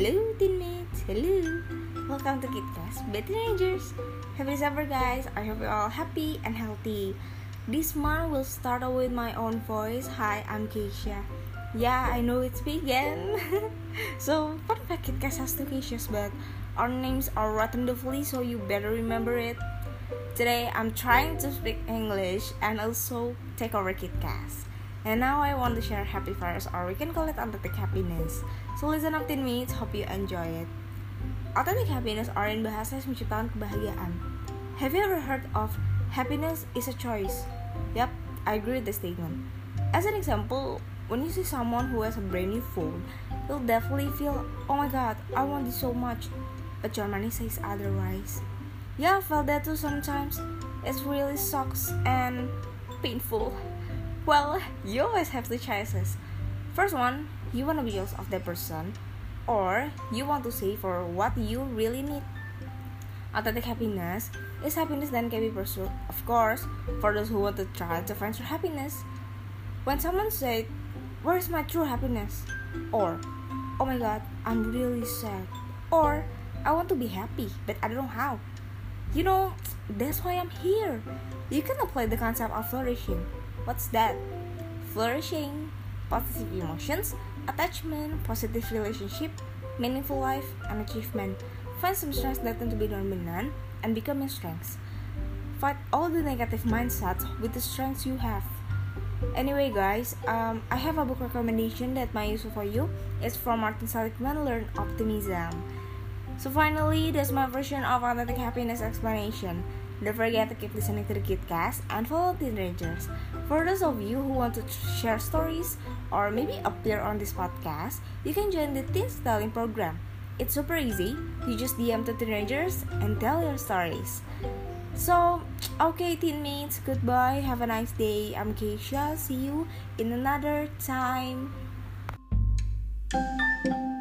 Hello teammates, hello. Welcome to KidCast by Teenagers. Happy December guys, I hope you're all happy and healthy. This month will start out with my own voice. Hi, I'm Keisha. Yeah, I know it's me again. So, fun fact, KidCast has two Keishas, but our names are written differently, so you better remember it. Today, I'm trying to speak English and also take over KidCast. And now I want to share happy virus, or we can call it authentic happiness. So listen up 10 minutes, hope you enjoy it. Authentic happiness, or in bahasa menciptakan kebahagiaan. Have you ever heard of happiness is a choice? Yep, I agree with the statement. As an example, when you see someone who has a brand new phone, you'll definitely feel, oh my god, I want this so much. But your money says otherwise. Yeah, I felt that too sometimes. It really sucks and painful. Well, you always have two choices. First one, you want to be jealous of that person, or you want to save for what you really need. Authentic happiness is happiness that can be pursued, of course, for those who want to try to find true happiness. When someone said, "Where is my true happiness?" or "Oh my god, I'm really sad," or "I want to be happy, but I don't know how." You know, that's why I'm here. You can apply the concept of flourishing. What's that? Flourishing, positive emotions, attachment, positive relationship, meaningful life, and achievement. Find some strengths that tend to be dominant and become your strengths. Fight all the negative mindsets with the strengths you have. Anyway guys, I have a book recommendation that might be useful for you. It's from Martin Seligman, Learn Optimism. So finally, that's my version of authentic happiness explanation. Don't forget to keep listening to the KidCast and follow Teenagers. For those of you who want to share stories or maybe appear on this podcast, you can join the Teen Styling program. It's super easy. You just DM to Teenagers and tell your stories. So, okay teammates, goodbye. Have a nice day. I'm Keisha. See you in another time.